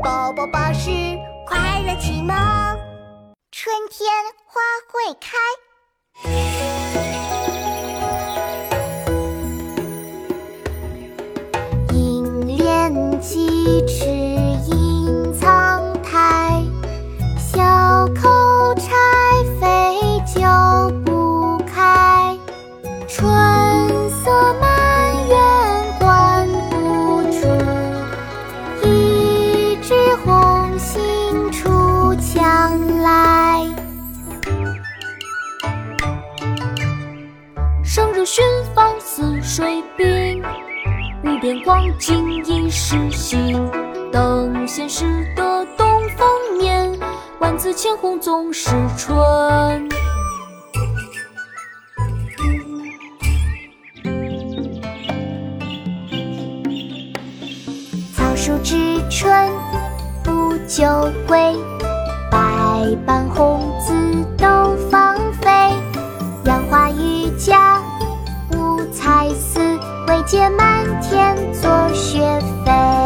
宝宝巴士快乐启蒙。春天花会开，银莲几尺隐藏苔，小口柴扉久不开。春色满园关不住，一枝红杏出墙来。 生日寻访似水滨，无边光景一时新。等闲识得东风面，万紫千红总是春。 草树知春不久归，百般红紫都芳菲。杨花榆荚五彩丝，惟见满天作雪飞。